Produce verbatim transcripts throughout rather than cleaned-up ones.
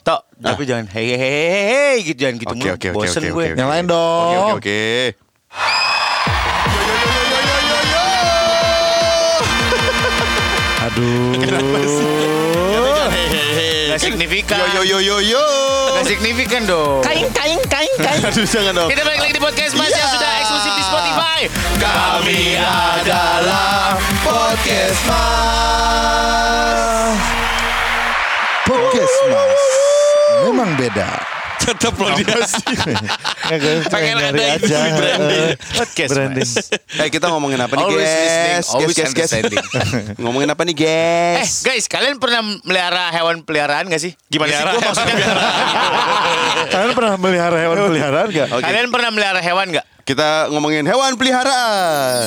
Tok, tapi Ah. jangan hei hei hei hei gitu, jangan gitu Oke, mulu. oke, oke, Bosen oke, gue. oke. Yang lain dong. Oke oke oke. Aduh. Gak signifikan. Yo yo yo yo yo. Gak signifikan dong. Kain kain kain kain. Aduh jangan dong. Kita balik lagi di podcast Mas yang sudah eksklusif di Spotify. Kami adalah podcast Mas. Podcast Mas. Memang beda. Tetap loh dia sih. Pengen ada nyari itu aja. branding. Podcast Branding. Mas. Eh kita ngomongin apa nih Always listening, guys? always Guys guys guys. understanding. Ngomongin apa nih Eh guys? guys, kalian pernah melihara hewan peliharaan gak sih? Gimana sih? Gua maksudnya Kalian pernah melihara hewan peliharaan gak? Oke. Kalian pernah melihara hewan gak? Kita ngomongin hewan peliharaan.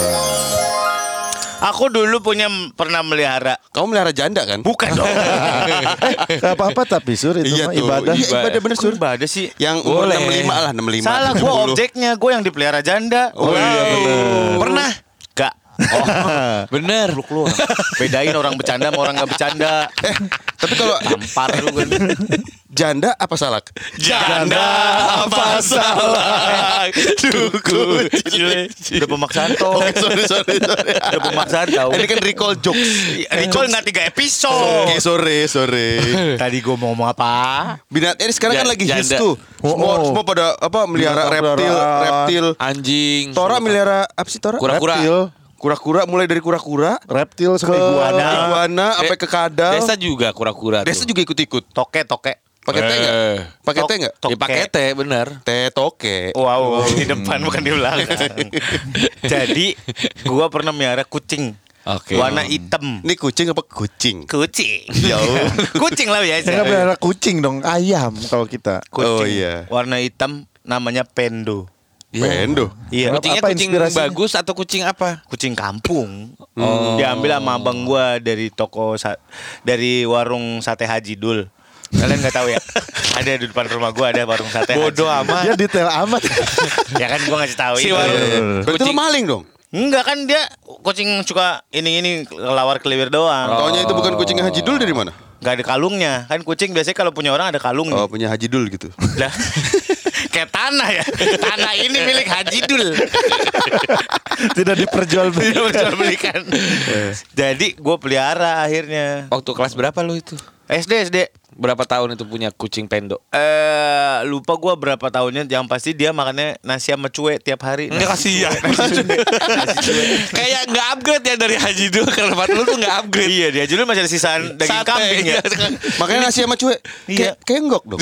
Aku dulu punya pernah melihara. Kamu melihara janda kan? Bukan dong. Gak apa-apa tapi Sur itu mah tuh. ibadah. Iya, ibadah bener sur. Ibadah sih. Yang umur Boleh. enam puluh lima lah, enam puluh lima. Salah, gue tujuh puluh. objeknya. Gue yang dipelihara janda. Oh iya bener. Pernah? Gak. Bener. Lu keluar. Bedain orang bercanda sama orang gak bercanda. Eh, tapi kalau Tampar lu kan. janda apa salak? Janda apa salah? Duku. Udah pemaksaan toh. Oke, sorry sorry sorry. Udah pemaksaan tau. Ini kan recall jokes. Recall gak tiga episode. Oke, sorry sorry. Tadi gue mau ngomong apa? Binat ini sekarang kan Ja- lagi hits janda. tuh. Semua Oh, oh. semua pada apa melihara Binatang reptil, peliharaan. reptil. Anjing. Tora melihara apa sih Tora? Kura-kura. Reptil. Kura-kura mulai dari kura-kura Reptil ke sampai iguana. iguana sampai ke kadal. Desa juga kura-kura. Desa tuh. juga ikut-ikut. Toke, toke. Pakai teh enggak? Eh. Pakai Tok- teh enggak? tok- Ya pakai Toke. teh bener. Teh toke. Wow, di depan bukan di belakang. Jadi, gue pernah melihara kucing. Oke. Warna hitam. Ini kucing apa kucing? Kucing. Jauh. Kucing lah biasa. Saya melihara kucing dong, ayam kalau kita. Kucing. Oh, iya. Warna hitam namanya Pendo. Pendo. Iya. Kucingnya Apa kucing inspirasinya? bagus atau kucing apa? Kucing kampung. Diambil sama abang gua dari toko sa- dari warung sate Haji Dul. Kalian nggak tahu ya? Ada di depan rumah gua ada warung sate. Bodoh Haji Dul. amat. Dia detail amat. Ya kan gua ngasih tahu Si itu. warung. Berarti lu Kucing- maling dong. Enggak kan dia kucing suka ini ini kelawar keliwir doang. Taunya itu bukan kucing Haji Dul dari mana? Gak ada kalungnya. Kan kucing biasanya kalau punya orang ada kalungnya. Oh, punya Haji Dul gitu. Lah. Kayak tanah ya. Tanah ini milik Haji Dul. Tidak diperjualbelikan. Dia belikan. Jadi gue pelihara akhirnya. Waktu kelas berapa lu itu? S D S D. Berapa tahun itu punya kucing Pendo? Eh lupa gue berapa tahunnya. Yang pasti dia makannya nasi sama cuek tiap hari. Enggak kasihan. Kayak nggak upgrade ya dari Haji dulu ke tempat lu tuh nggak upgrade. Iya dia dulu masih ada sisaan daging Sate, kambing ya. Makanya nasi sama cuek. Iya. Kayak kayak enggok dong.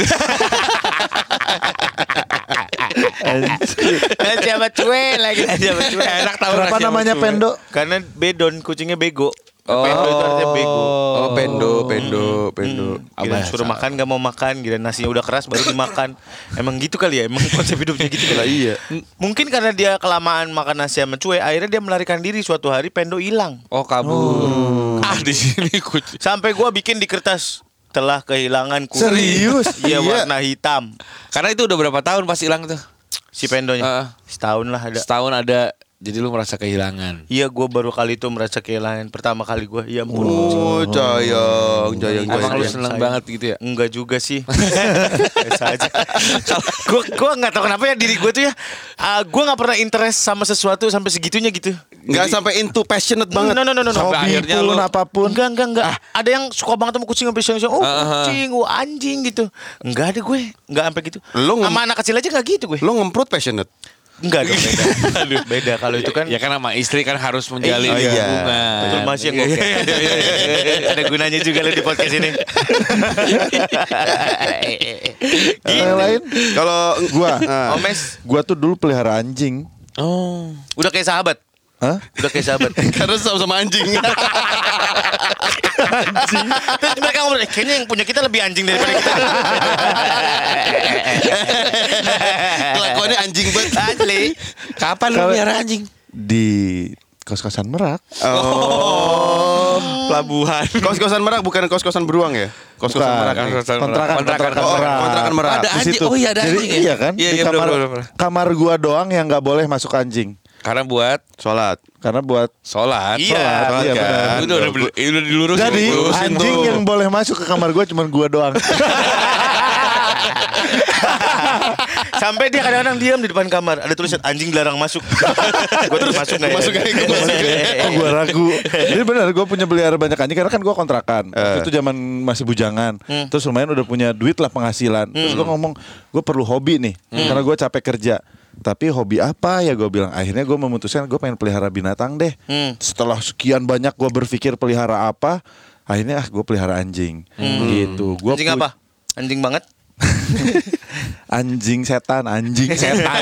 Nasi sama cuek lagi nasi sama cuek. Enak tahu Kenapa nasi sama namanya cuek. Pendo? Karena bedon kucingnya bego. Oh. Pendo itu artinya bego. Oh, pendo, pendo, pendo. Gila suruh makan gak mau makan. Gila nasinya udah keras baru dimakan. Emang gitu kali ya. Emang konsep hidupnya gitu Lah kali. iya. M- Mungkin karena dia kelamaan makan nasi sama cuek, akhirnya dia melarikan diri. Suatu hari Pendo hilang. Oh kabur. Ah di sini kucing. Sampai gua bikin di kertas telah kehilangan kucing. Serius? Iya Iya. warna hitam. Karena itu udah berapa tahun pas hilang tuh? Si Pendonya Heeh. setahun lah ada. Setahun ada. Jadi lu merasa kehilangan. Iya gua baru kali itu merasa kehilangan. Pertama kali gua. Ya ampun. Oh, jayang, jayang, Emang lu jayang. seneng sayang. banget gitu ya? Enggak juga sih. Biasa aja. Gue gue nggak tahu kenapa ya diri gue tuh ya. Uh, gue nggak pernah interest sama sesuatu sampai segitunya gitu. Enggak sampai into passionate banget. No no no no. no. Sampai Hobi akhirnya pun lu- apapun. Enggak enggak enggak. Ada yang suka banget sama kucing sampai siang-siang. Oh Ah. kucing, oh anjing gitu. Enggak ada gue. Enggak sampai gitu. Lu ngem- sama anak kecil aja nggak gitu gue. Lo ngemprut passionate. Enggak dong beda. Beda kalau itu kan. Ya kan sama istri kan harus menjalin Eh, iya. hubungan. Betul Mas yang Iya, oke. iya, iya, iya, iya. Ada gunanya juga lo di podcast ini. Yang lain? Kalau Gua. Ah. Omes Gua tuh dulu pelihara anjing. Oh. udah kayak sahabat. Hah? Udah kayak sahabat. karena sama-sama anjing. Terus mereka ngomong, "Eh, kayaknya yang punya kita lebih anjing daripada kita." Kelakuannya anjing banget. Asli. Kapan lu Kalau- biar anjing? Di kos-kosan Merak. Oh. Pelabuhan. Kos-kosan Merak bukan kos-kosan beruang ya? Kos-kosan Bukan. Merak. Kontrakan, Kontrakan, kontrakan Oh, Merak. kontrakan Merak. Ada Di anjing. situ. Oh iya ada Jadi anjing ya? iya kan? Iya, Di iya, kamar, bener, bener, bener. kamar gua doang yang nggak boleh masuk anjing. Karena buat Sholat. Karena buat sholat. Iya. sholat, iya kan? benar. Udah udah udah, udah dilurusin. Jadi Lurusin anjing tuh. yang boleh masuk ke kamar gue cuma gue doang. Sampai dia kadang-kadang diam di depan kamar. Ada tulisan anjing dilarang masuk. Gue terus masuk nggak ya? Masuk aja, gue masuk aja. Oh, gue ragu. Jadi benar gue punya pelihara banyak anjing karena kan gue kontrakan. Waktu Eh. itu zaman masih bujangan. Terus lumayan udah punya duit lah penghasilan. Terus gue ngomong gue perlu hobi nih karena gue capek kerja. Tapi hobi apa ya gue bilang. Akhirnya gue memutuskan gue pengen pelihara binatang deh. Setelah sekian banyak gue berpikir pelihara apa, akhirnya ah gue pelihara anjing. Gitu. Gua Anjing pu- apa? Anjing banget. Anjing setan, anjing setan.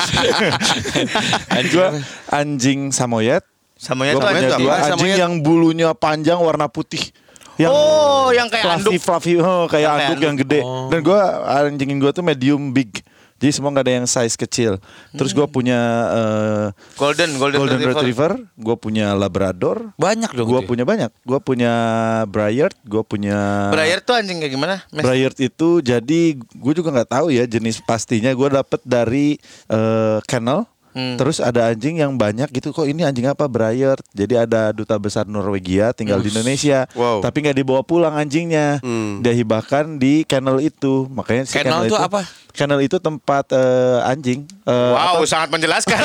Gue anjing samoyed. Samanya Gue tuh punya anjing. dua apa? anjing Samoyed. yang bulunya panjang warna putih. Yang Oh, yang kayak fluffy, anduk. fluffy, oh, kayak Yang kayak anduk anduk. yang gede. Dan gue anjingin gue tuh medium big. Jadi semua nggak ada yang size kecil. Terus gue punya uh, Golden, golden, golden retriever. retriever, gue punya labrador, Banyak dong. gue itu ya? punya banyak. Gue punya Briard, gue punya Briar tuh anjing kayak gimana? Mes? Briard itu jadi gue juga nggak tahu ya jenis pastinya. Gue dapet dari uh, kennel. Hmm. Terus ada anjing yang banyak gitu. Kok ini anjing apa? Briard. Jadi ada duta besar Norwegia tinggal di Indonesia. Wow. Tapi nggak dibawa pulang anjingnya. Hmm. Dia hibahkan di kennel itu. Makanya si Kennel kennel, itu itu apa? Kennel itu tempat eh, anjing. Eh, Wow, apa? sangat menjelaskan.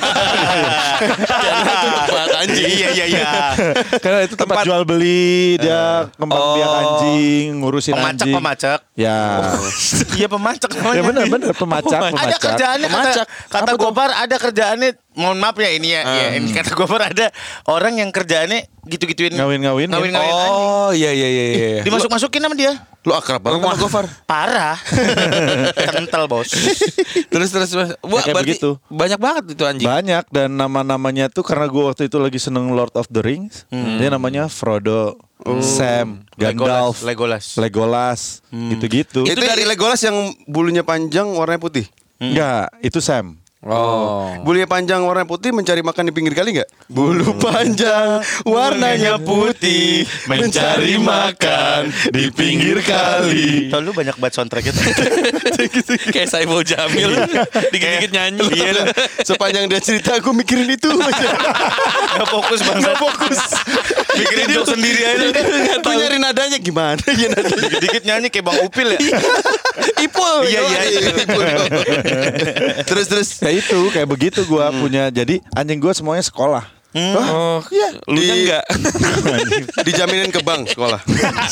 Tempat anjing. Iya, iya, iya. Karena itu tempat, jual beli, dia kembang biak Oh. anjing, ngurusin Pemacak, anjing. pemacak. Ya. Iya, pemacak namanya. Ya benar-benar pemacak, Ada pemacak. kerjaannya kata, Pemacak. kata Apa tuh? Gopar ada kerjaannya. Mohon maaf ya ini ya, ya ini kata Gopar ada orang yang kerjaannya gitu-gituin Ngawin-ngawin ya? ngawin-ngawin anjing. Oh iya iya iya iya. Dimasuk-masukin sama dia. Lu akrab banget sama Gofar. Parah. Kental, Bos. Terus terus terus. Wah, kayak berarti begitu. banyak banget itu anjing. Banyak dan nama-namanya tuh karena gue waktu itu lagi seneng Lord of the Rings. Dia namanya Frodo, Sam, Gandalf, Legolas. Legolas, gitu-gitu. Itu dari Legolas yang bulunya panjang warnanya putih. Enggak, itu Sam. Oh. Bulunya panjang warna putih mencari makan di pinggir kali nggak? Bulu panjang warnanya putih mencari makan di pinggir kali. Tau lu banyak banget soundtrack itu. Kayak Saiful Jamil dikit-dikit nyanyi. Iya, sepanjang dia cerita aku mikirin itu aja. Gak fokus banget. Gak fokus. Mikirin joke sendiri aja. Gue nyari nadanya gimana ya nadanya. Dikit-dikit nyanyi kayak Bang Upil ya. Ipul. Iya, iya, iya. Ipul. Terus terus. Kayak itu, kayak begitu gue punya. Jadi anjing gue semuanya sekolah. Oh, iya. Lu Di- enggak? Dijaminin ke bank sekolah.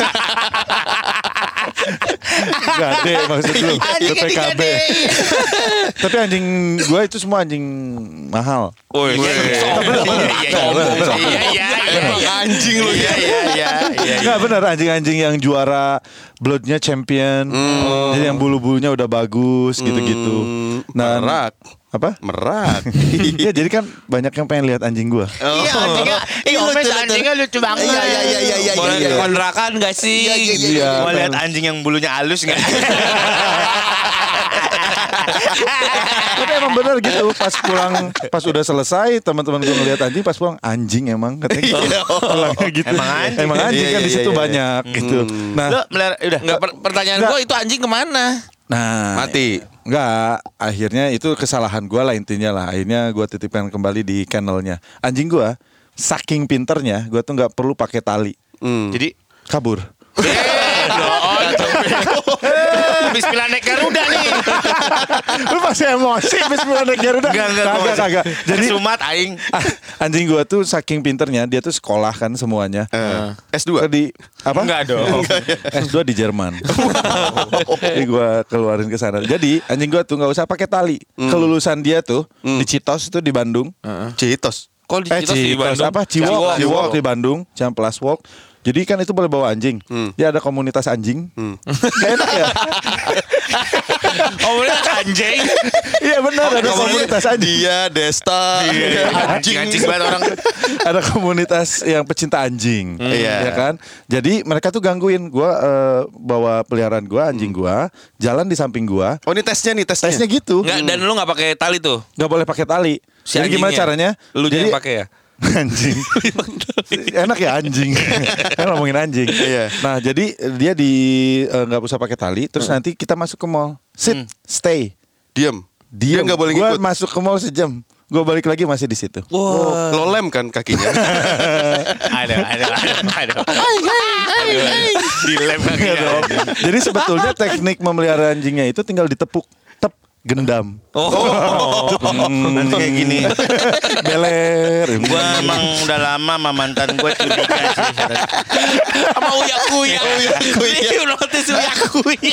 Gade maksud lu, Anjing P K B. Tapi anjing gue itu semua anjing mahal. Oh iya. Iya, iya, iya. Anjing lu Iya, ya. iya, iya, iya. Enggak benar anjing-anjing yang juara bloodnya champion. Jadi yang bulu-bulunya udah bagus gitu-gitu. Nah, Merak. apa? Merak. Iya, jadi kan banyak yang pengen lihat anjing gua. Iya, anjingnya. Iya, Omes anjingnya lucu banget. Iya, iya, iya, iya, iya. Boleh iya. kontrakan gak sih? Iya. Mau lihat anjing yang bulunya halus nggak? Tapi emang benar gitu. Pas pulang, pas udah selesai, teman-teman gue ngeliat anjing, pas pulang anjing emang katanya. Pulangnya gitu. Emang anjing. Emang anjing Iya, kan iya, di situ iya, banyak gitu. Nah, Lo melihara, udah. Enggak, per- pertanyaan Nggak. gue itu anjing kemana? nah Mati. Enggak, akhirnya itu kesalahan gue lah intinya lah. Akhirnya gue titipkan kembali di kennelnya. Anjing gue saking pinternya, gue tuh nggak perlu pakai tali, Hmm. Jadi kabur. Bismillah naik Garuda nih. Lu masih emosi Bismillah naik Garuda? Enggak, enggak, Kagak, kagak. Jadi Sumat aing. ah, anjing gue tuh saking pinternya, dia tuh sekolah kan semuanya. Eh, S dua. Di apa? Enggak dong. S dua di Jerman. Jadi gue keluarin ke sana. Jadi anjing gue tuh nggak usah pakai tali. Kelulusan dia tuh di Citos itu di Bandung. Citos. Kok di Eh Citos di Citos Bandung? apa? Ciwok, Ciwok. Ciwok di Bandung, Ciamplas Walk. Jadi kan itu boleh bawa anjing. Dia ada komunitas anjing. Gak enak ya? Oh, bener anjing. Iya benar ada komunitas anjing. Dia Desta. Anjing anjing banget orang. Ada komunitas yang pecinta anjing, Iya. ya kan? Jadi mereka tuh gangguin gua eh, bawa peliharaan gua, anjing gua, jalan di samping gua. Oh ini tesnya nih tesnya. Tesnya gitu, Enggak, dan lu enggak pakai tali tuh. nggak boleh pakai tali. Si Jadi gimana anjingnya. caranya? Lu Jadi yang pakai ya? anjing. Enak ya anjing. Kan ngomongin anjing. Iya. Nah, jadi dia di eh, nggak usah pakai tali, terus nanti kita masuk ke mall. Sit, stay. Diam. Dia nggak boleh Gua ngikut. masuk ke mall sejam. gue balik lagi masih di situ. Oh, lo lem kan kakinya. Ada, ada, ada, ada. Dilem kakinya. Jadi sebetulnya teknik memelihara anjingnya itu tinggal ditepuk, tep, gendam. Oh. Nanti kayak gini. Beler. Gue emang udah lama sama mantan gue curiga sih. Sama uya kuya. Uya kuya. Notis uya kuya.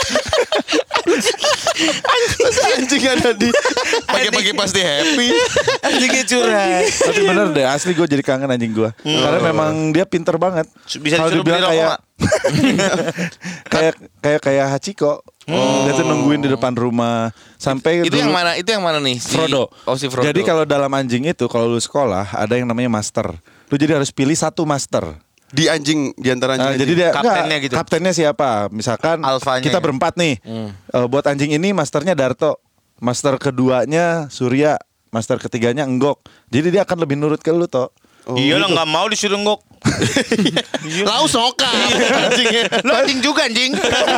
Masa anjing ada di pagi-pagi pasti happy. Anjingnya curhat. Tapi bener deh, asli gue jadi kangen anjing gue. Karena memang dia pinter banget. Bisa Kalau disuruh beli dibilang rokok kayak nggak? kayak kayak kayak Hachiko. Dia tuh nungguin di depan rumah sampai Itu dulu- yang mana? Itu yang mana nih? Si- Frodo. Oh si Frodo. Jadi kalau dalam anjing itu kalau lu sekolah ada yang namanya master. Lu jadi harus pilih satu master. Di anjing di antara Nah, anjing. jadi dia Kaptennya enggak, gitu. Kaptennya siapa? Misalkan Alfanya kita ya? berempat nih. Eh, buat anjing ini masternya Darto. Master keduanya Surya. Master ketiganya Enggok. Jadi dia akan lebih nurut ke lu toh. Iya lah nggak mau disuruh ngok. Lau soka anjingnya. Lo anjing juga anjing.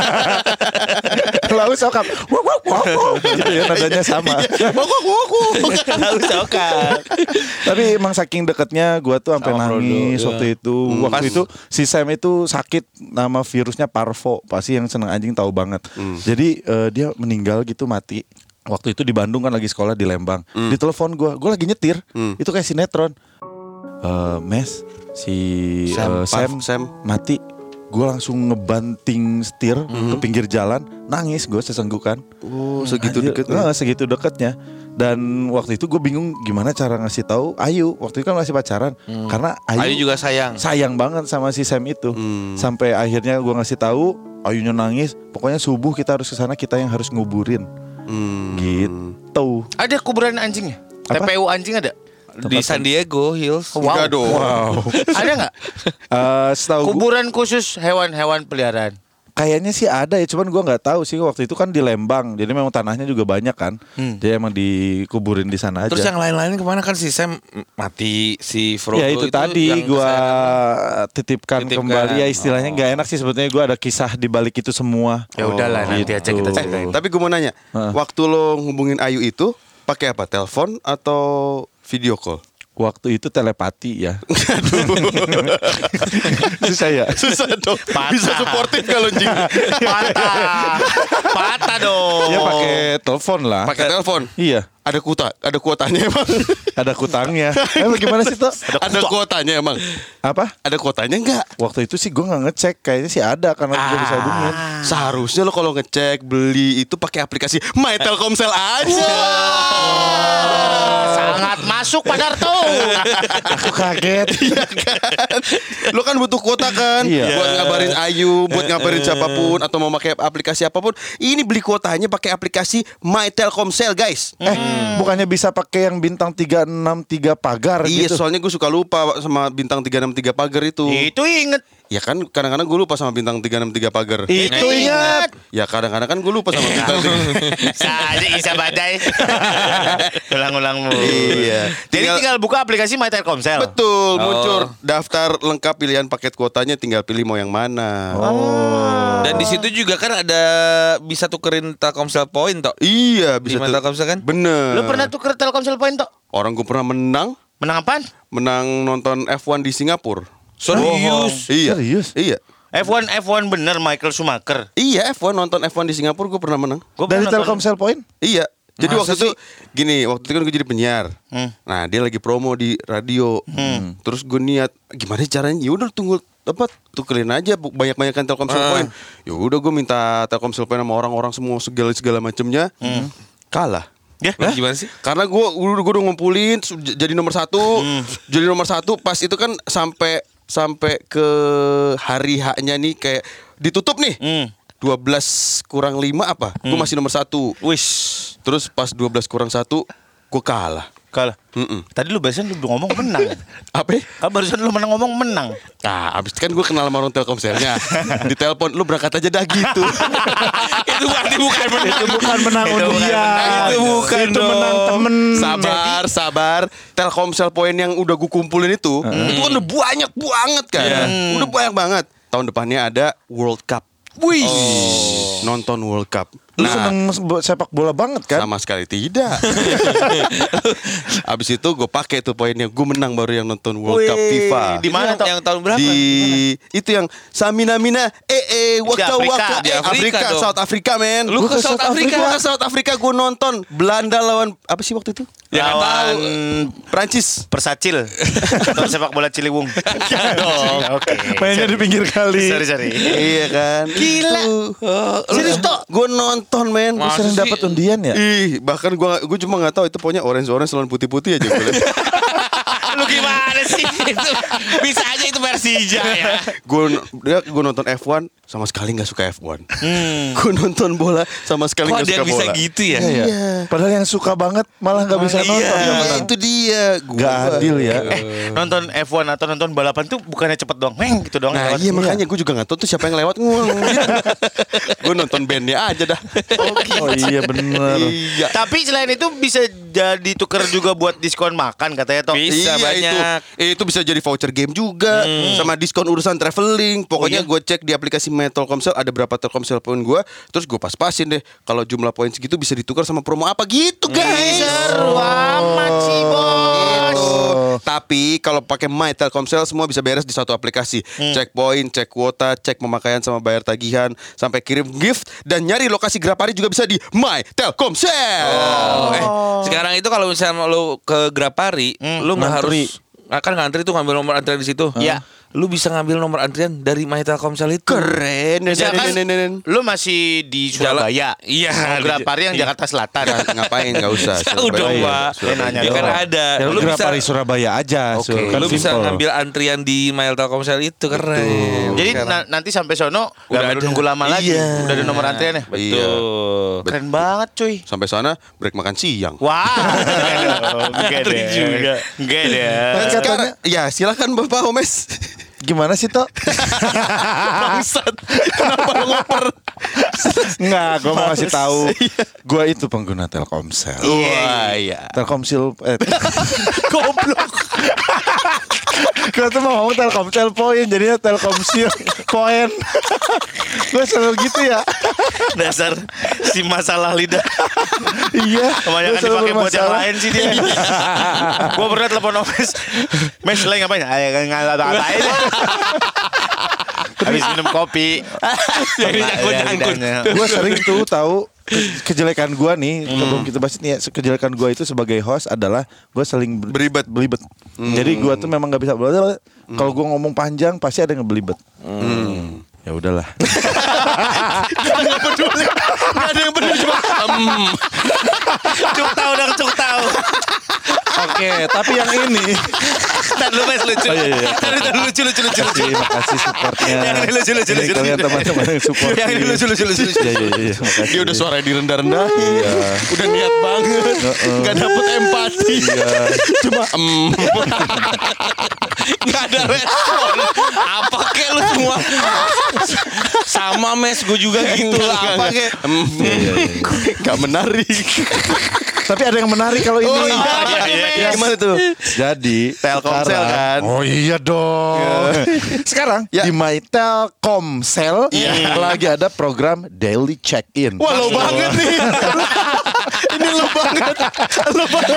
Lalu sokap. Wok wok wok wok. Gitu ya nadanya sama. Tahu sokak. Tapi emang saking deketnya gua tuh sampai Sama Frodo, nangis iya. waktu itu. Waktu itu si Sam itu sakit nama virusnya parvo. Pasti yang seneng anjing tahu banget. Jadi eh, dia meninggal gitu mati. Waktu itu di Bandung kan lagi sekolah di Lembang. Ditelepon gua, gua lagi nyetir. Itu kayak sinetron. Eh, Mes si Sam, eh, Sam, Parv, Sam. mati. Gue langsung ngebanting setir ke pinggir jalan, nangis gue sesenggukan. Oh, segitu Anjir, deketnya. eh, segitu deketnya. Dan waktu itu gue bingung gimana cara ngasih tahu Ayu. Waktu itu kan masih pacaran, karena Ayu, Ayu juga sayang. sayang banget sama si Sam itu. Hmm. Sampai akhirnya gue ngasih tahu, Ayunya nangis. Pokoknya subuh kita harus ke sana, kita yang harus nguburin. Hmm. Gitu. Ada kuburan anjingnya? Apa? T P U anjing ada? Di San Diego Hills. Enggak dong. Wow. Ada nggak? Eh, setahu gua- Kuburan khusus hewan-hewan peliharaan. Kayaknya sih ada ya, cuman gua nggak tahu sih waktu itu kan di Lembang, jadi memang tanahnya juga banyak kan, jadi emang dikuburin di sana aja. Terus yang lain-lain kemana kan si Sam mati, si Frodo ya itu, tadi yang gua kesayangan. titipkan, Titipkan. kembali ya istilahnya nggak enak sih sebetulnya, gua ada kisah di balik itu semua. Ya udahlah nanti gitu. aja kita ceritain. Tapi gue mau nanya, Heeh. waktu lo hubungin Ayu itu pakai apa? Telepon atau video call? Waktu itu telepati ya. Susah ya. Susah dong. Bisa suportif kalau anjing. Patah. Patah dong. Ya pakai telepon lah. Pakai telepon. Iya. Ada kuota, ada kuotanya emang. Ada kutangnya. Emang gimana sih tuh? Ada kuotanya emang. Apa? Ada kuotanya enggak? Waktu itu sih gue nggak ngecek, kayaknya sih ada karena gue bisa hubungin. Seharusnya lo kalau ngecek beli itu pakai aplikasi My Telkomsel aja. Sangat masuk Pak Darto. Aku kaget. Iya kan? Lo kan butuh kuota kan? Iya. Buat ngabarin Ayu, buat ngabarin siapapun atau mau pakai aplikasi apapun. Ini beli kuotanya pakai aplikasi My Telkomsel, guys. Eh, bukannya bisa pakai yang bintang tiga enam tiga pagar Iya, gitu? soalnya gue suka lupa sama bintang tiga enam tiga pagar itu. Itu inget. Ya kan kadang-kadang gue lupa sama bintang tiga enam tiga pagar. Itu ingat. Ya kadang-kadang kan gue lupa sama bintang tiga. Saja Isa Badai. Ulang-ulang mulu. Iya. Jadi Tinggal- tinggal buka aplikasi My Telkomsel. Betul, Oh. muncul daftar lengkap pilihan paket kuotanya, tinggal pilih mau yang mana. Dan di situ juga kan ada bisa tukerin Telkomsel point toh. Iya, Di bisa My tuh. Telkomsel kan? Bener. Lu pernah tuker Telkomsel Point tok? Orang gue pernah menang, Menang apaan? menang nonton F satu di Singapura. Serius? Iya. Serius? Iya. F satu F satu bener Michael Schumacher. Iya, F satu nonton F satu di Singapura gue pernah menang. Gua Dari pernah nonton- Telkomsel Point? Iya. Jadi Masa waktu itu gini, waktu itu kan gue jadi penyiar. Hmm. Nah, dia lagi promo di radio. Terus gue niat, gimana caranya? Ya udah tunggu apa tukerin aja bu- banyak-banyakan Telkomsel Ah. Point. Ya udah gue minta Telkomsel Point sama orang-orang semua segala segala macamnya. Kalah. Ya. Hah? Gimana sih? Karena gue gue udah ngumpulin su- j- jadi nomor satu, jadi nomor satu. Pas itu kan sampai sampai ke hari haknya nih kayak ditutup nih. Hmm. dua belas kurang lima apa? Gue masih nomor satu. Wis. Terus pas dua belas kurang satu, gue kalah. Kalah. Mm-mm. Tadi lu barusan lu ngomong menang. Apa? Kan barusan lu menang ngomong menang. Nah, abis itu kan gue kenal sama orang Telkomselnya. Ditelepon, lu berangkat aja dah gitu. Itu berarti bukan menang. Itu bukan menang Itu bukan undian. menang. Itu bukan Itu dong. menang temen. Sabar, sabar. Telkomsel Point yang udah gue kumpulin itu, itu kan udah banyak banget kan. Udah banyak banget. Tahun depannya ada World Cup. Wih. Nonton World Cup. Lu Nah. seneng sepak bola banget kan? Sama sekali tidak. Abis itu gue pakai tuh poinnya, gue menang baru yang nonton World Cup Wih, FIFA. di mana Yang- toh? yang tahun berapa? Di itu yang Samina Mina eh eh waka Afrika. waka Di eh, Afrika Afrika, dong. South Africa men. Lu ke South Africa? Gua ke South Africa gue nonton Belanda lawan apa sih waktu itu? Ya, kan Lawan Prancis. Persacil atau sepak bola Ciliwung. Oke. Mainnya di pinggir kali. Sorry sorry. Iya kan. Gila. Serius toh? Gue nonton men. Masa Sering sih? dapat undian ya? Ih, bahkan gue gue cuma nggak tahu itu pokoknya orange orange lawan putih putih aja gue liat. Lu gimana sih? Itu bisa aja itu Persija ya. Gue gue nonton F satu sama sekali nggak suka F satu. Gue nonton bola sama sekali Kok nggak ada suka yang bisa bola. gitu ya? Iya, iya. Padahal yang suka banget malah nggak bisa Iya. nonton. yang Iya, menang. itu dia. Gua- Gak adil ya. Eh, nonton F satu atau nonton balapan tuh bukannya cepet doang, meng gitu doang. Nah lewat. iya makanya gue juga gak tahu tuh siapa yang lewat nguang gitu. Gue nonton bandnya aja dah. Oh iya bener. Iya. Tapi selain itu bisa jadi tuker juga buat diskon makan katanya toh. Bisa Iya, banyak. Itu, itu bisa jadi voucher game juga sama diskon urusan traveling. Pokoknya gue cek di aplikasi My Telkomsel ada berapa Telkomsel poin gue, terus gue pas-pasin deh. Kalau jumlah poin segitu bisa ditukar sama promo apa gitu guys. Seru amat sih bos. Gitu. Tapi kalau pakai My Telkomsel semua bisa beres di satu aplikasi. Cek poin, cek kuota, cek pemakaian sama bayar tagihan, sampai kirim gift dan nyari lokasi Grapari juga bisa di My Telkomsel. Oh, eh, sekarang itu kalau misalnya lu ke Grapari, lu nggak ngantri. harus akan ngantri tuh ngambil nomor antrian di situ. Iya. Lu bisa ngambil nomor antrian dari My Telkomsel itu. Keren. Misalkan Nen, nen, nen, nen. lu masih di Surabaya. Iya. Mau Grapari yang Jakarta Selatan. Nggak- ngapain nggak usah. Jauh dong, Surabaya. Pak. Surabaya. Nanya Ya kan doang. ada. Ya, Lu bisa Grapari Surabaya aja. Oke. Sur. Kan lu bisa simple. ngambil antrian di My Telkomsel itu keren. Jadi Sekarang. na- nanti sampai sono Udah udah ada. nunggu lama lagi. Iya. Udah ada nomor antriannya. Iya. Betul. Keren banget cuy. Sampai sana break makan siang. Wah, enggak deh. juga. Enggak deh. Dan sekarang, ya silakan Bapak Omes. Gimana sih Tok? Bangsat. Kenapa lo ngoper? Enggak, gue mau kasih tahu. Gue itu pengguna Telkomsel. Wah iya. Telkomsel eh Goblok. gue tuh mau ngomong Telkomsel poin jadinya Telkomsel poin. Gue selalu gitu ya. Dasar si masalah lidah. Iya. Kebanyakan gua selalu dipakai buat yang bermasalah. lain sih dia. Gua pernah telepon Omes. Mes lagi ngapain? Ayo ngapain? Habis minum kopi. Jadi nyangkut-nyangkut. Gue sering tuh tahu ke- kejelekan gue nih sebelum kita bahas ini ya, kejelekan gue itu sebagai host adalah gue sering ber- Beribet. belibet. Jadi gue tuh memang nggak bisa belajar. Kalau gue ngomong panjang pasti ada yang ngebelibet. Ya udahlah. Gak peduli. Gak ada yang peduli cuma. em. Cuk tahu dong, cuk tahu. Oke, tapi yang ini. Tadi lu Mes lucu. Oh, iya, iya. Tadi tadi lucu lucu lucu lucu. Terima kasih supportnya. Yang ini lucu, lucu, Ini lucu, kalian lucu. teman-teman yang support. Yang ini lucu lucu lucu. Iya iya iya. makasih. Dia udah suaranya direndah-rendah. Iya. Udah niat banget. Gak dapet empati. Iya. Cuma em. Gak ada respon. Apa kek lu semua? Sama Mes, gue juga gitu lah. Apa kek? Em. Gak menarik. Tapi ada yang menarik kalau ini. Oh iya, iya, iya, iya. Gimana tuh? Jadi Telkomsel sekarang- kan? Oh iya dong. Sekarang Ya. di My Telkomsel lagi ada program daily check-in. Wah lo banget nih. Ini lo banget. Lo banget.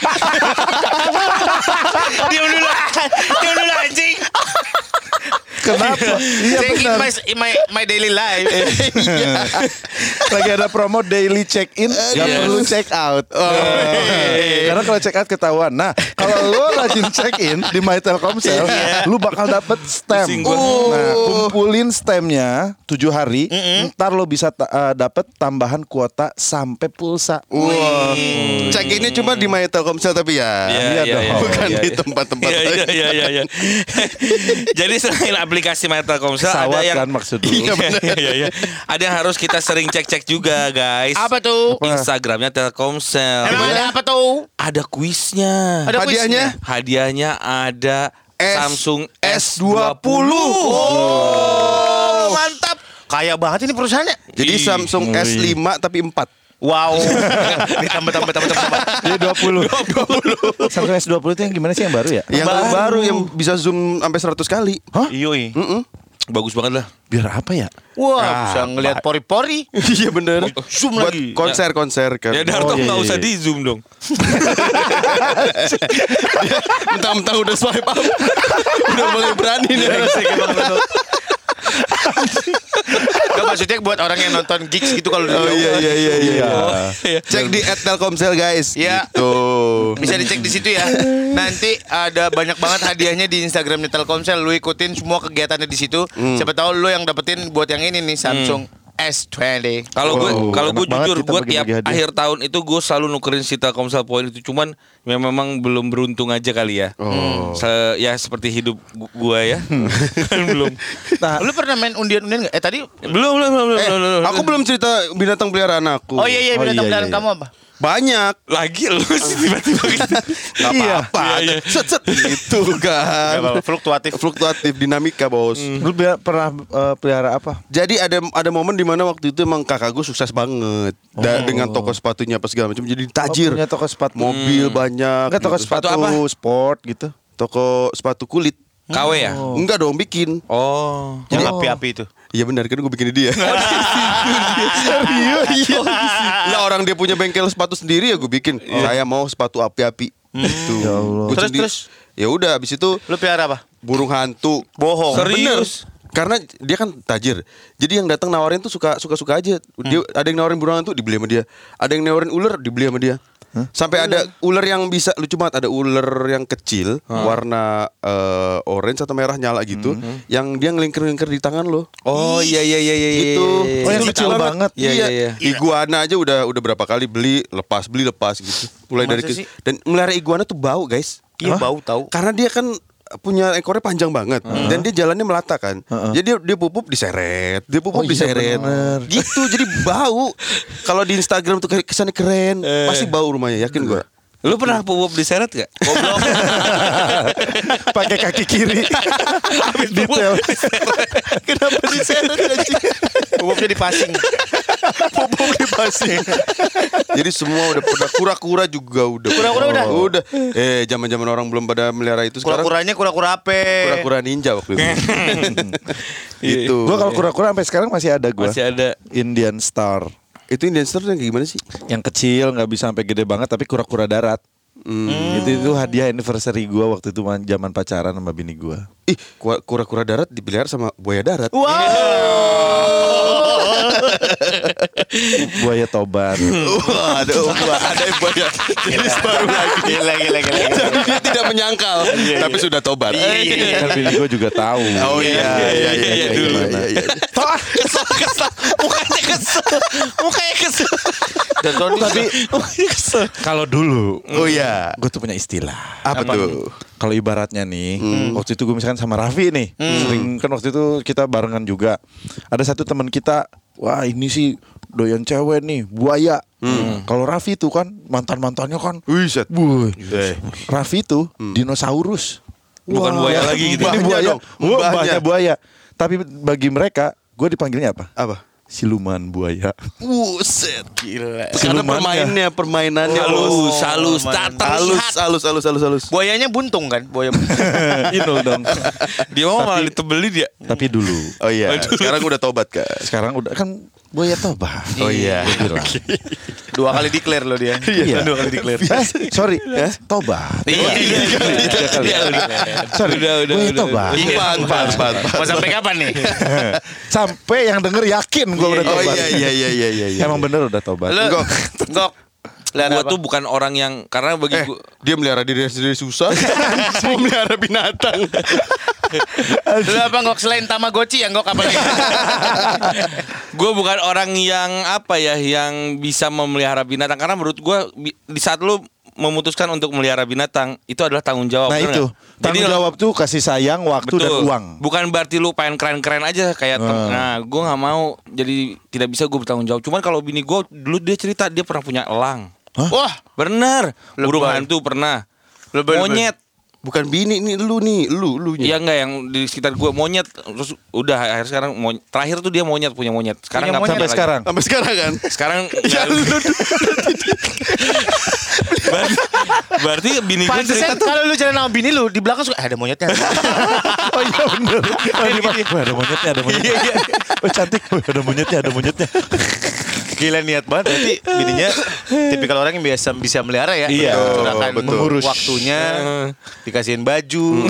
Diam dulu. Diam dulu anjing. Kenapa? Iya Check in benar. my, my my daily life. Lagi ada promo daily check-in, gak Yes. perlu check out. Eh, Karena kalau check out ketahuan. Nah, kalau lo rajin check in di My Telkomsel, lu bakal dapet stem. Pusing gua. Nah, kumpulin stemnya tujuh hari, ntar lo bisa ta- eh, dapet tambahan kuota sampai pulsa. Wah. Cek ini cuma di My Telkomsel tapi ya. Iya dong. Bukan iya, di iya. tempat-tempat Iya lain. iya iya iya. iya. Jadi selain aplikasi My Telkomsel ada Pesawat yang kan maksud lu. Iya iya iya. Ada yang harus kita sering cek-cek juga guys. Apa tuh? Instagramnya Telkomsel. Emang ada apa tuh? Ada kuisnya. Ada Hadiahnya? Hadiahnya ada S- Samsung S dua puluh. Oh, mantap. Kaya banget ini perusahaannya. Jadi Ih. Samsung S lima tapi empat. Wow. Ditambah tambah tambah tambah tambah. Iya dua puluh. Samsung S dua puluh itu yang gimana sih yang baru ya? Yang Baru. baru yang bisa zoom sampai seratus kali. Hah? Iyoi. Mm-mm. Bagus banget lah. Biar apa ya? Wah, Ah, bisa ngelihat pori-pori. Iya bener. Zoom Buat lagi. konser-konser kan. Ya Darto Oh, iya, nggak iya, usah iya. di zoom dong. Mentang-mentang udah swipe up. Udah mulai berani nih. Gak, maksudnya buat orang yang nonton gigs gitu kalau Oh iya iya iya iya. Iya. Cek di at Telkomsel guys. Iya. Gitu. Bisa dicek di situ ya. Nanti ada banyak banget hadiahnya di Instagramnya Telkomsel. Lu ikutin semua kegiatannya di situ. Siapa tahu lu yang dapetin buat yang ini nih Samsung S dua puluh. Kalau gue Wow, kalau gue enak banget jujur kita gue tiap bagi-bagi hadiah. akhir tahun itu gue selalu nukerin si Telkomsel poin itu, cuman ya memang belum beruntung aja kali ya. Oh. Se- ya seperti hidup gu- gue ya. belum. Nah, Lu pernah main undian-undian gak? Eh tadi Belum belum belum belum. Eh, belum, belum. aku belum cerita binatang peliharaan aku. Oh iya iya Oh, binatang iya, peliharaan iya. kamu apa? Banyak. Lagi lu sih tiba-tiba gitu. Gak Iya. apa-apa. Iya, iya. Set set gitu kan. Gak apa-apa, fluktuatif. Fluktuatif dinamika bos. lu biar- pernah eh, pelihara apa? Jadi ada ada momen di mana waktu itu emang kakak gue sukses banget Da- dengan toko sepatunya apa segala macam. Jadi tajir. Oh, punya toko sepatu. Mobil banyak. Enggak toko gitu. sepatu, Sepatu apa? sport gitu. Toko sepatu kulit. K W ya? Enggak dong bikin. Oh. Yang Oh. api-api itu. Iya benar kan gue bikin dia. Serius iya. Lah orang dia punya bengkel sepatu sendiri ya gue bikin. Saya mau sepatu api-api. Gitu. Ya Allah. Gua Terus, sendiri- terus? Ya udah abis itu Lu pelihara apa? burung hantu. Bohong. Serius? Bener. Karena dia kan tajir. Jadi yang datang nawarin tuh suka suka suka aja. Dia ada yang nawarin burung hantu dibeli sama dia. Ada yang nawarin ular dibeli sama dia. Sampai ada ular yang bisa lucu banget, ada ular yang kecil warna eh, orange atau merah nyala gitu yang dia ngelingkir-ngelingkir di tangan lo. Oh iya iya iya iya. Gitu. iya, Oh, iya. yang Itu kecil lucu banget. Iya, Iya, iya, iya. Iguana aja udah udah berapa kali beli lepas beli lepas gitu. Mulai Masa dari ke- sih? dan melihara iguana tuh bau, guys. Iya bau tahu. Karena dia kan punya ekornya panjang banget dan dia jalannya melata kan. Jadi dia, dia pupuk diseret, dia pupuk Oh, iya, diseret. bener. Gitu jadi bau. Kalau di Instagram tuh kayak kesannya keren, pasti bau rumahnya, yakin gua. Lu pernah pup diseret gak? Goblok. Pakai kaki kiri. Detail. Kenapa diseret anjing? Pupuknya dipasing. Pupuk dipasing. Jadi semua udah pada kura-kura juga udah. Kura-kura udah? Udah. Eh, zaman-zaman orang belum pada melihara itu sekarang. Kura-kuranya kura-kura apa? Kura-kura ninja waktu itu. Gitu. Gua kalau kura-kura sampai sekarang masih ada gua. Masih ada. Indian Star. Itu Indian Star yang kayak gimana sih? Yang kecil nggak bisa sampai gede banget tapi kura-kura darat. Hmm. Itu itu hadiah anniversary gua waktu itu man- zaman pacaran sama bini gua. Ih, kura- kura-kura darat dipelihara sama buaya darat. Buaya tobat. Wah, ada ada buaya. Jenis baru lagi. Gila gila gila. Jadi dia tidak menyangkal, tapi sudah tobat. Kan bini gua juga tahu. Oh iya iya iya iya dulu. iya iya. Toh, Kesel kesel. Mukanya kesel. Mukanya kesel. Dan Tony tapi Mukanya kesel. kalau dulu, Oh iya. gue tuh punya istilah. Apa tuh? Kalau ibaratnya nih, waktu itu gue misalkan sama Raffi nih, sering kan waktu itu kita barengan juga. Ada satu teman kita, wah ini sih doyan cewek nih, buaya. Kalau Raffi itu kan mantan mantannya kan, Wih, set. Wuh, Eh. Raffi itu dinosaurus. Bukan buaya lagi gitu. Ini Mbahnya buaya, dong, Wah, mbahnya. mbahnya buaya. Tapi bagi mereka, gue dipanggilnya apa? Apa? Siluman buaya. Buset. gila. Karena Silumannya. permainnya, permainannya Halus, bos. halus, tak halus, terlihat. halus, halus, halus, halus. Buayanya buntung kan? Buaya buntung. Inul dong. Dia mau malah ditebeli dia. Tapi dulu, Oh iya, sekarang udah tobat kan? sekarang udah kan buaya tobat. Oh iya. Gue bilang. Dua kali declare lo dia. Iya. Dua kali declare. Eh, sorry, tobat. Iya. Tiga kali. Iya, udah. Sorry, Udah, udah, buaya udah, tobat. Iya. Empat, empat, empat, empat. Mau sampai kapan nih? Sampai yang denger yakin gue udah Oh tobat. iya, iya, iya, iya, iya, iya. Emang bener udah tobat. Lo Gok. Gok. Lihat Gua apa? tuh bukan orang yang karena bagi Eh, gua dia melihara diri sendiri susah. Mau melihara binatang. Lu apa Gok selain Tamagotchi ya Gok apa lagi? gue bukan orang yang apa ya yang bisa memelihara binatang karena menurut gue di saat lu memutuskan untuk melihara binatang itu adalah tanggung jawab. Nah bener itu nggak? tanggung Jadi, jawab tuh kasih sayang, waktu dan betul. uang. Bukan berarti lu pengen keren-keren aja kayak tem- Hmm. nah gue nggak mau jadi tidak bisa gue bertanggung jawab. Cuman kalau bini gue dulu dia cerita dia pernah punya elang. Wah, Bener. Burung Lebay. hantu pernah. Lebay, lebay. Monyet. Bukan bini nih, lu nih, lu, lu Iya enggak yang di sekitar gue monyet terus udah akhir sekarang mony- terakhir tuh dia monyet punya monyet. Sekarang Punya nggak monyet Sampai punya lagi. sekarang. Sampai sekarang kan? Sekarang Ya nggak- lu berarti, berarti bini gue cerita Pantesan tuh. kalau lu jalan sama bini lu di belakang suka eh, ada monyetnya. Oh iya bener. Oh, di bawah, "Wah, ada monyetnya, ada monyetnya. Oh cantik, "Wah, ada monyetnya, ada monyetnya. Gila niat banget berarti bininya tipikal orang yang biasa bisa melihara ya. Iya, Curahkan betul. mengurus waktunya, dikasihin baju.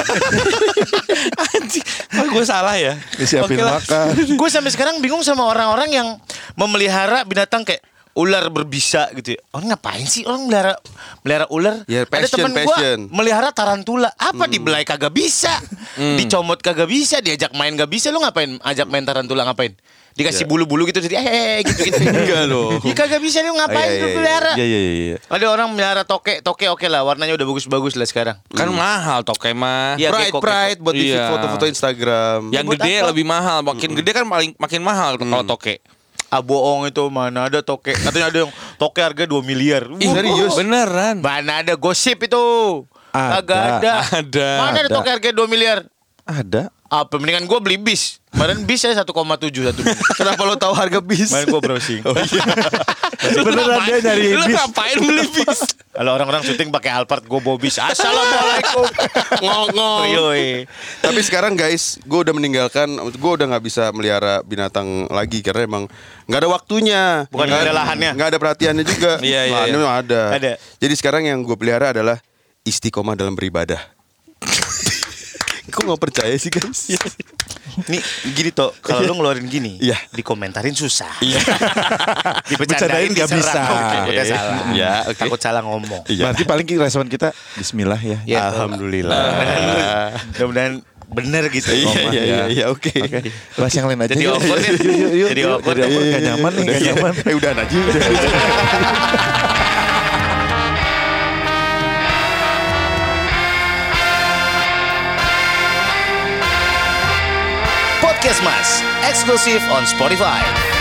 Anjing, oh, gue salah ya. Disiapin Oke lah. makan. Gue sampai sekarang bingung sama orang-orang yang memelihara binatang kayak ular berbisa gitu ya. Orang ngapain sih orang melihara melihara ular? Ya, Ada passion, temen gue passion. melihara tarantula. Apa dibelai kagak bisa, dicomot kagak bisa, diajak main gak bisa. Lu ngapain ajak main tarantula ngapain? Dikasih bulu-bulu gitu jadi eh gitu gitu. Enggak loh. Ya kagak bisa lu ngapain Oh, iya, lu iya, pelihara? Iya iya iya. Ada orang melihara toke, toke oke lah, warnanya udah bagus-bagus lah sekarang. Kan mahal toke mah. Iya, Pride, gecko, pride buat di Iya. foto-foto Instagram. Yang Buat gede apa? lebih mahal, makin gede kan paling makin mahal kalau toke. Ah bohong itu, mana ada toke. Katanya ada yang toke harga dua miliar. Ih, Wah, serius? Beneran. mana ada gosip itu? Ada. Kagak ada. Ada. Mana ada Ada. toke harga dua miliar? Ada. Apa mendingan gue beli bis. Kemarin bis saya satu koma tujuh satu. Kenapa lo tahu harga bis? Kemarin gue browsing. Beneran dia nyari Lu bis. ngapain beli bis? Kalau orang-orang syuting pakai Alphard, gue bawa bis. Assalamualaikum. Ngong-ngong. Yoi. Tapi sekarang guys, gue udah meninggalkan, gue udah nggak bisa melihara binatang lagi karena emang nggak ada waktunya, Bukan nggak ada lahannya. nggak ada perhatiannya juga. Iya, iya, Lahannya iya. memang ada. Ada. Jadi sekarang yang gue pelihara adalah istiqomah dalam beribadah. Kok nggak percaya sih guys? Nih gini toh, kalau lu ngeluarin gini, Iya. dikomentarin susah. Iya. Bercandain Dibercandain nggak diserang. bisa. Takutnya Iya. salah. Iya, oke. Takut salah ngomong. Iya. Berarti paling respon kita Bismillah ya. Ya, Alhamdulillah. Mudah-mudahan bener gitu. Iya ngomong. iya iya iya oke. Oke. Bahas yang lain aja. Jadi yuk. awkward ya? Yuk, yuk, yuk. Jadi Yuk, awkward. Jadi awkward. Gak nyaman nih, gak nyaman. Eh udah aja. Podcast Mas, eksklusif on Spotify.